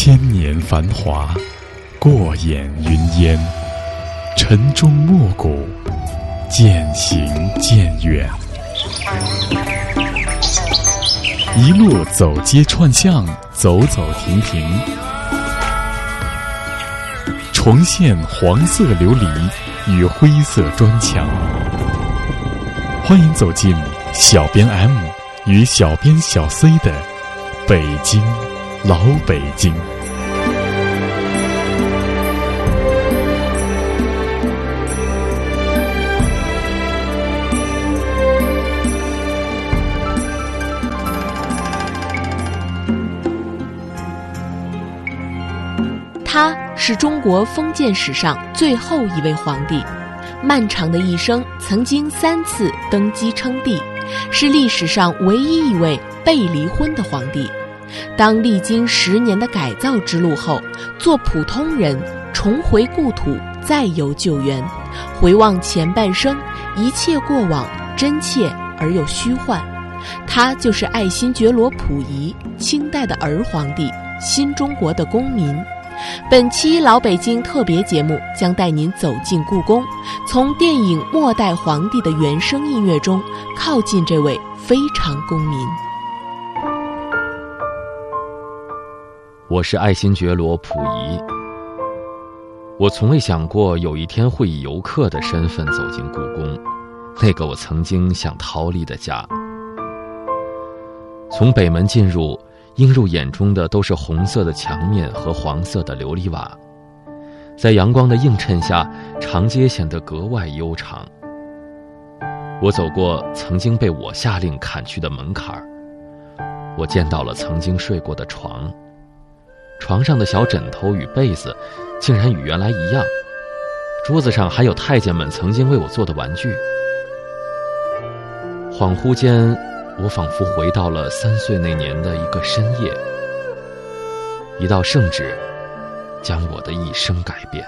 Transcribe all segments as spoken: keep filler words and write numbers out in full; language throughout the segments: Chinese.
千年繁华，过眼云烟，晨钟暮鼓，渐行渐远。一路走街串巷，走走停停，重现黄色琉璃与灰色砖墙。欢迎走进小编 M 与小编小 C 的北京老北京。 他是中国封建史上最后一位皇帝，漫长的一生曾经三次登基称帝，是历史上唯一一位被离婚的皇帝。当历经十年的改造之路后，做普通人，重回故土，再游旧园，回望前半生，一切过往真切而又虚幻。他就是爱新觉罗溥仪，清代的儿皇帝，新中国的公民。本期老北京特别节目将带您走进故宫，从电影《末代皇帝》的原声音乐中靠近这位非常公民。 我是爱新觉罗溥仪。我从未想过有一天会以游客的身份走进故宫，那个我曾经想逃离的家。从北门进入，映入眼中的都是红色的墙面和黄色的琉璃瓦，在阳光的映衬下，长街显得格外悠长。我走过曾经被我下令砍去的门槛，我见到了曾经睡过的床，床上的小枕头与被子竟然与原来一样，桌子上还有太监们曾经为我做的玩具。恍惚间，我仿佛回到了三岁那年的一个深夜，一道圣旨将我的一生改变。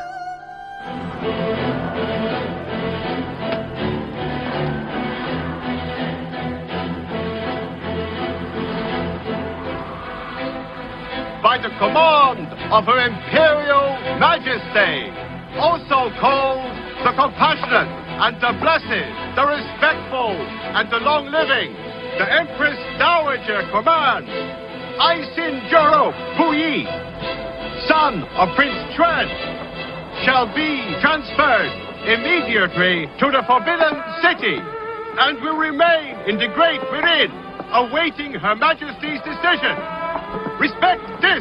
By the command of Her Imperial Majesty, also called the Compassionate and the Blessed, the Respectful and the Long-Living, the Empress Dowager commands, Aisin Juro Puyi, son of Prince Tran, shall be transferred immediately to the Forbidden City and will remain in the Great Mirin, awaiting Her Majesty's decision. Respect this.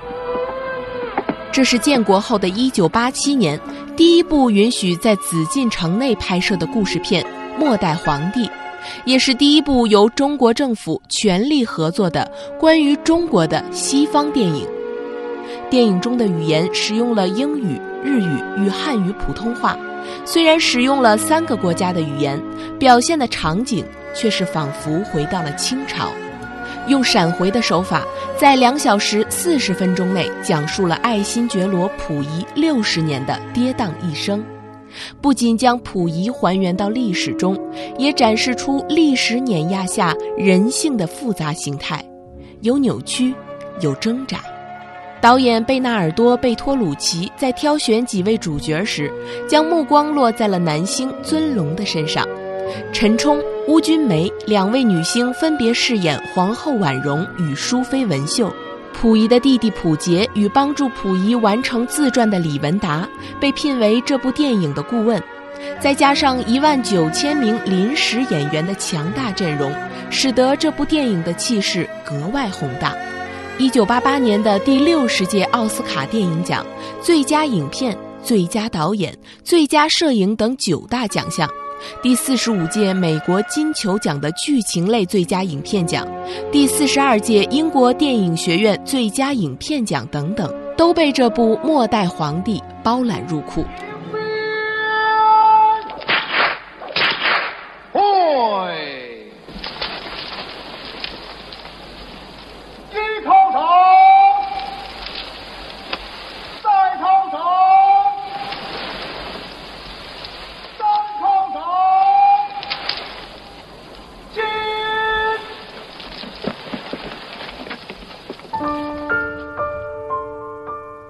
这是建国后的一九八七年第一部允许在紫禁城内拍摄的故事片《末代皇帝》，也是第一部由中国政府全力合作的关于中国的西方电影。电影中的语言使用了英语、日语与汉语普通话，虽然使用了三个国家的语言，表现的场景却是仿佛回到了清朝。用闪回的手法，在两小时四十分钟内讲述了爱新觉罗溥仪六十年的跌宕一生，不仅将溥仪还原到历史中，也展示出历史碾压下人性的复杂形态，有扭曲，有挣扎。导演贝纳尔多·贝托鲁奇在挑选几位主角时，将目光落在了男星尊龙的身上。陈冲、邬君梅两位女星分别饰演皇后婉容与淑妃文秀，溥仪的弟弟溥杰与帮助溥仪完成自传的李文达被聘为这部电影的顾问，再加上一万九千名临时演员的强大阵容，使得这部电影的气势格外宏大。一九八八年的第六十届奥斯卡电影奖最佳影片、最佳导演、最佳摄影等九大奖项，第四十五届美国金球奖的剧情类最佳影片奖，第四十二届英国电影学院最佳影片奖等等，都被这部《末代皇帝》包揽入库。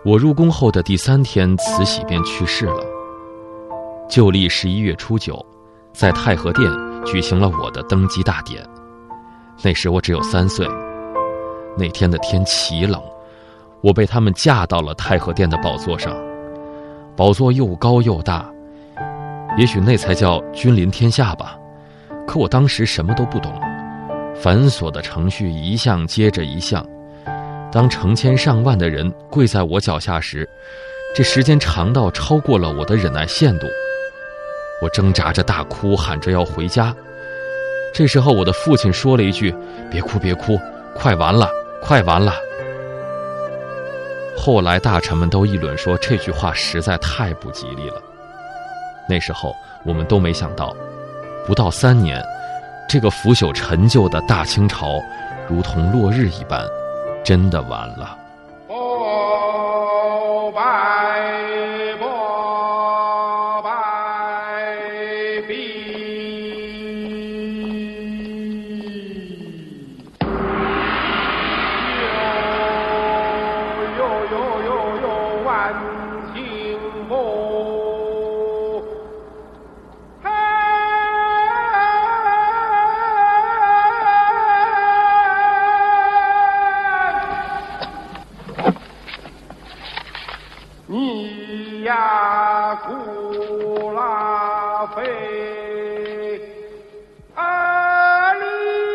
我入宫后的第三天，慈禧便去世了。旧历十一月初九，在太和殿举行了我的登基大典。那时我只有三岁。那天的天奇冷，我被他们架到了太和殿的宝座上。宝座又高又大，也许那才叫君临天下吧。可我当时什么都不懂，繁琐的程序一项接着一项。当成千上万的人跪在我脚下时，这时间长到超过了我的忍耐限度。我挣扎着大哭，喊着要回家。这时候我的父亲说了一句：别哭别哭，快完了快完了。后来大臣们都议论说这句话实在太不吉利了。那时候我们都没想到，不到三年，这个腐朽陈旧的大清朝如同落日一般，真的完了。 不败不败必有有有有有万幸福。你呀，古拉菲，阿里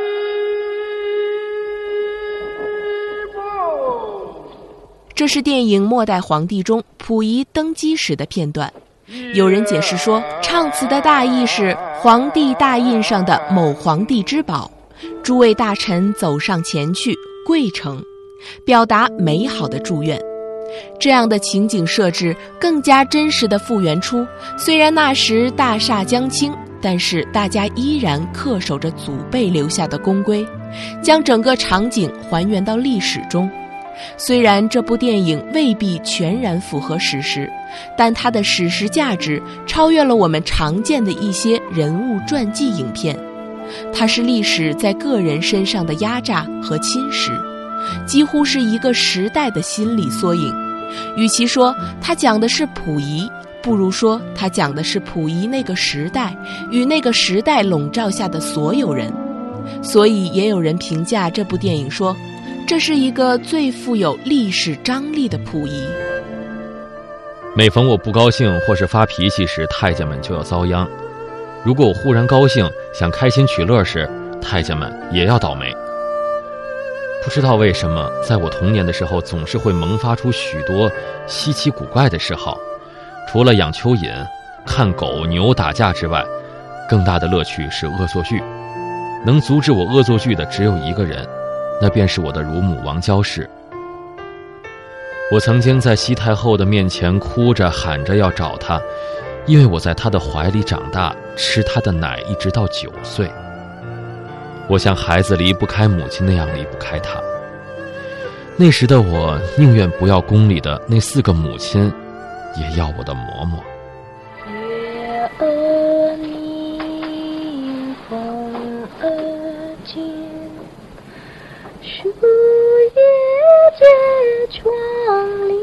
不。 这是电影《末代皇帝》中溥仪登基时的片段。有人解释说，唱词的大意是皇帝大印上的某皇帝之宝，诸位大臣走上前去跪诚，表达美好的祝愿。这样的情景设置更加真实地复原出，虽然那时大厦将倾，但是大家依然恪守着祖辈留下的公规，将整个场景还原到历史中。虽然这部电影未必全然符合史实，但它的史实价值超越了我们常见的一些人物传记影片。它是历史在个人身上的压榨和侵蚀，几乎是一个时代的心理缩影。与其说它讲的是溥仪，不如说它讲的是溥仪那个时代与那个时代笼罩下的所有人。所以也有人评价这部电影说，这是一个最富有历史张力的溥仪。 每逢我不高兴或是发脾气时，太监们就要遭殃；如果我忽然高兴想开心取乐时，太监们也要倒霉。不知道为什么，在我童年的时候总是会萌发出许多稀奇古怪的嗜好。除了养蚯蚓、看狗牛打架之外，更大的乐趣是恶作剧。能阻止我恶作剧的只有一个人，那便是我的乳母王娇氏。我曾经在西太后的面前哭着喊着要找她，因为我在她的怀里长大，吃她的奶一直到九岁。我像孩子离不开母亲那样离不开她。那时的我宁愿不要宫里的那四个母亲，也要我的嬷嬷。 月儿明，风儿静，树叶结窗棂。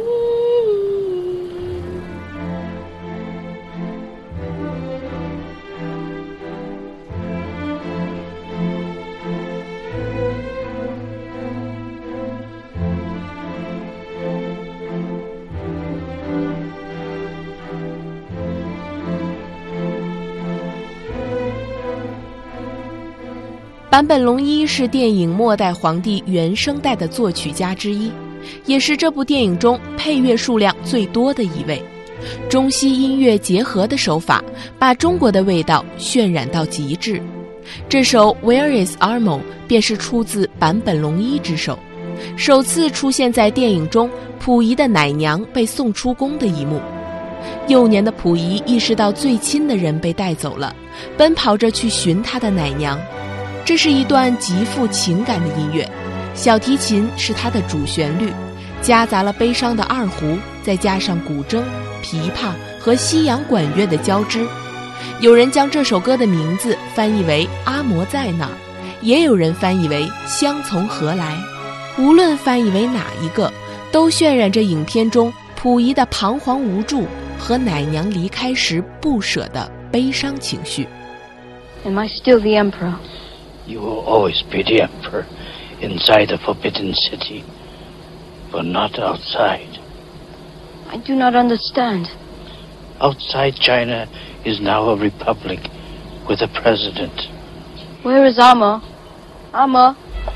坂本龙一是电影《末代皇帝》原声带的作曲家之一，也是这部电影中配乐数量最多的一位。中西音乐结合的手法，把中国的味道渲染到极致。这首《Where is Armo》便是出自坂本龙一之手，首次出现在电影中溥仪的奶娘被送出宫的一幕。幼年的溥仪意识到最亲的人被带走了，奔跑着去寻他的奶娘。这是一段极富情感的音乐，小提琴是它的主旋律，夹杂了悲伤的二胡，再加上古筝、琵琶和西洋管乐的交织。有人将这首歌的名字翻译为阿嬷在哪儿，也有人翻译为香从何来。无论翻译为哪一个， 都渲染着影片中溥仪的彷徨无助和奶娘离开时不舍的悲伤情绪。 Am I still the emperor? You will always be the emperor inside the Forbidden City, but not outside. I do not understand. Outside China is now a republic with a president. Where is Amma? Amma?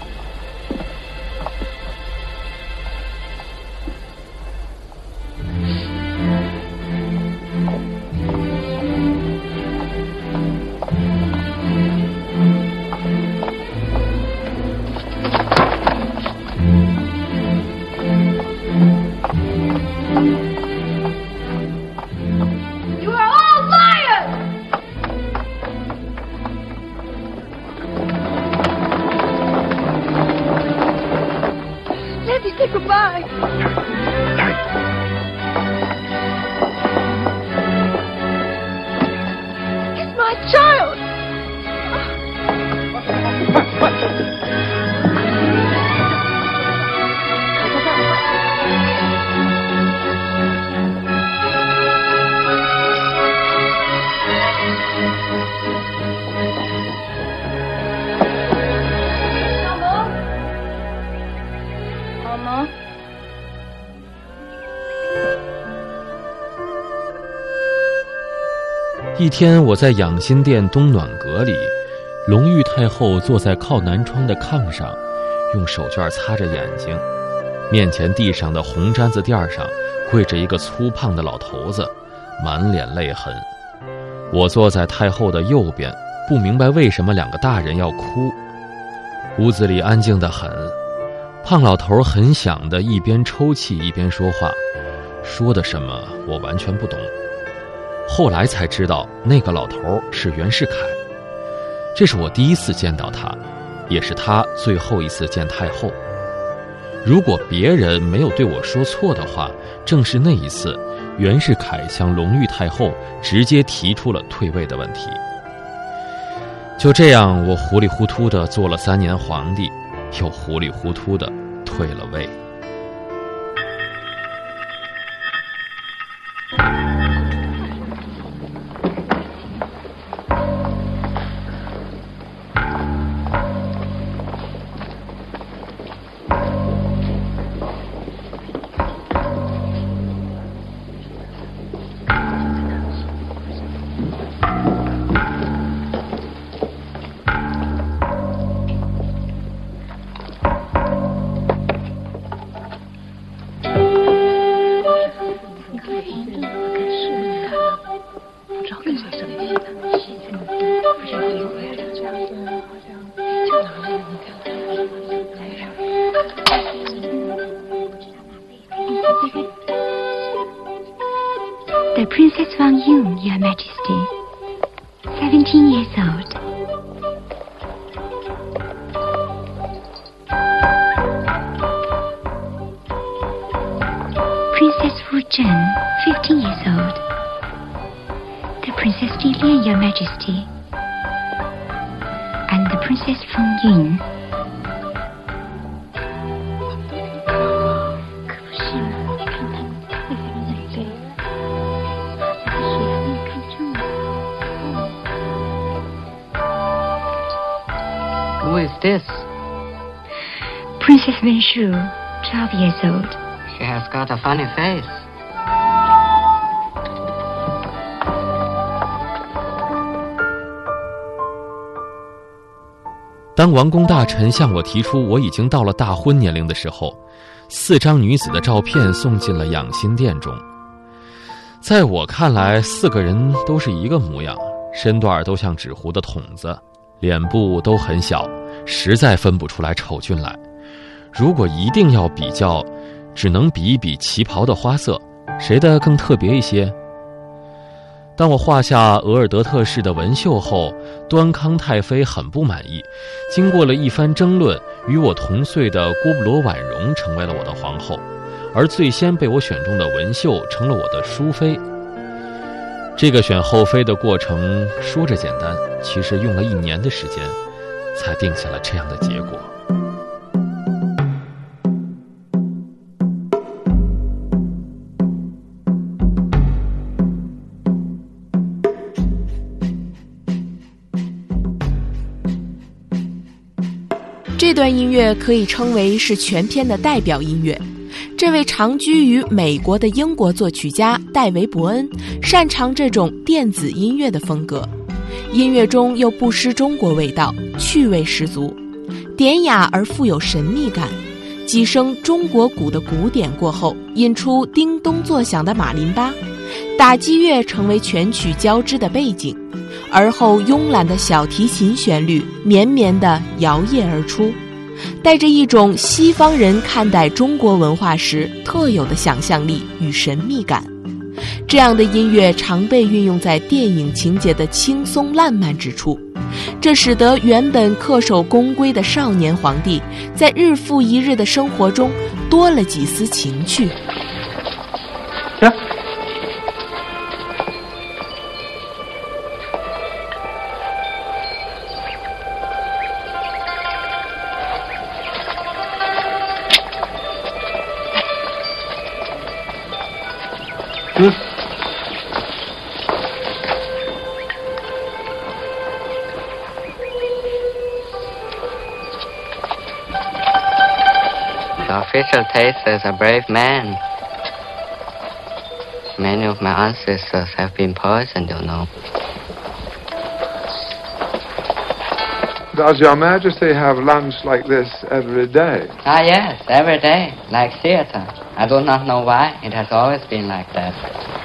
Goodbye. It's my child. Amma? 一天，我在养心殿东暖阁里，隆裕太后坐在靠南窗的炕上，用手绢擦着眼睛。面前地上的红毡子垫上跪着一个粗胖的老头子，满脸泪痕。我坐在太后的右边，不明白为什么两个大人要哭。屋子里安静得很，胖老头很响地一边抽泣一边说话，说的什么我完全不懂。后来才知道那个老头是袁世凯，这是我第一次见到他，也是他最后一次见太后。如果别人没有对我说错的话，正是那一次袁世凯向隆裕太后直接提出了退位的问题。就这样，我糊里糊涂地做了三年皇帝，又糊里糊涂地退了位。 The Princess Wang Yun, Your Majesty, seventeen years old. Princess Wu Zhen, fifteen years old. The Princess Li Lian, Your Majesty, and the Princess Feng Yun. Who is this? Princess Wen Shu, twelve years old. She has got a funny face. 当王公大臣向我提出我已经到了大婚年龄的时候，四张女子的照片送进了养心殿中。在我看来，四个人都是一个模样，身段都像纸糊的筒子，脸部都很小，实在分不出来丑俊来。如果一定要比较，只能比一比旗袍的花色，谁的更特别一些。当我画下额尔德特式的纹绣后，端康太妃很不满意，经过了一番争论，与我同岁的郭布罗婉容成为了我的皇后，而最先被我选中的文秀成了我的淑妃。这个选后妃的过程说着简单，其实用了一年的时间才定下了这样的结果。 这段音乐可以称为是全片的代表音乐。这位长居于美国的英国作曲家戴维·伯恩擅长这种电子音乐的风格，音乐中又不失中国味道，趣味十足，典雅而富有神秘感。几声中国鼓的鼓点过后，引出叮咚作响的马林巴，打击乐成为全曲交织的背景，而后慵懒的小提琴旋律绵绵地摇曳而出，带着一种西方人看待中国文化时特有的想象力与神秘感。这样的音乐常被运用在电影情节的轻松烂漫之处，这使得原本恪守宫规的少年皇帝在日复一日的生活中多了几丝情趣。 呀嗯 The official takes as a brave man. Many of my ancestors have been poisoned, you know. Does Your Majesty have lunch like this every day? Ah, yes, every day, like theater. I do not know why. It has always been like that.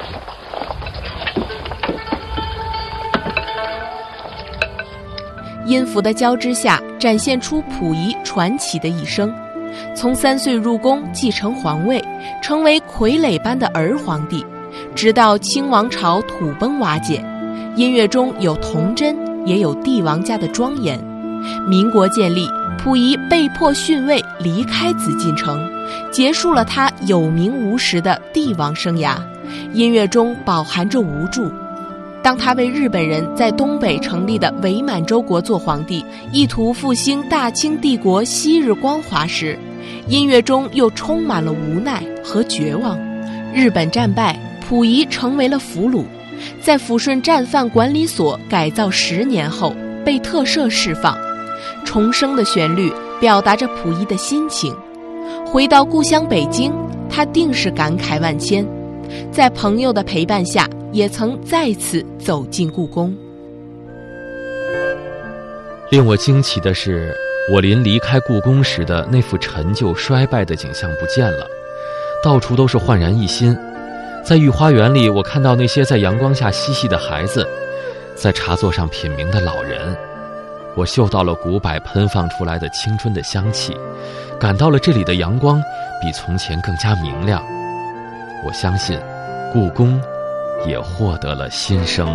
音符的交织下，展现出溥仪传奇的一生。从三岁入宫继承皇位，成为傀儡般的儿皇帝，直到清王朝土崩瓦解。音乐中有童真，也有帝王家的庄严。民国建立，溥仪被迫逊位离开紫禁城，结束了他有名无实的帝王生涯。音乐中饱含着无助。当他为日本人在东北成立的伪满洲国做皇帝，意图复兴大清帝国昔日光华时，音乐中又充满了无奈和绝望。日本战败，溥仪成为了俘虏，在抚顺战犯管理所改造十年后被特赦释放。重生的旋律表达着溥仪的心情。回到故乡北京，他定是感慨万千，在朋友的陪伴下，也曾再次走进故宫。 令我惊奇的是，我临离开故宫时的那副陈旧衰败的景象不见了，到处都是焕然一新。在御花园里，我看到那些在阳光下嬉戏的孩子，在茶座上品茗的老人。我嗅到了古柏喷放出来的青春的香气，感到了这里的阳光比从前更加明亮。我相信故宫也获得了新生。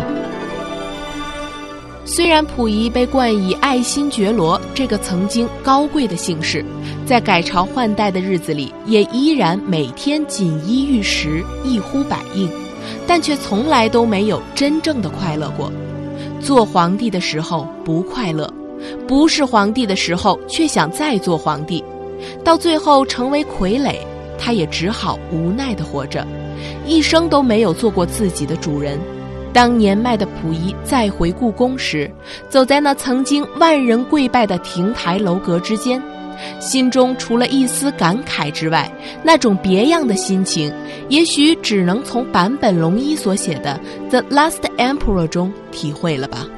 虽然溥仪被冠以爱新觉罗这个曾经高贵的姓氏，在改朝换代的日子里也依然每天锦衣玉食，一呼百应，但却从来都没有真正的快乐过。做皇帝的时候不快乐，不是皇帝的时候却想再做皇帝，到最后成为傀儡，他也只好无奈地活着，一生都没有做过自己的主人。当年迈的溥仪再回故宫时，走在那曾经万人跪拜的亭台楼阁之间，心中除了一丝感慨之外，那种别样的心情，也许只能从坂本龙一所写的《The Last Emperor》中体会了吧。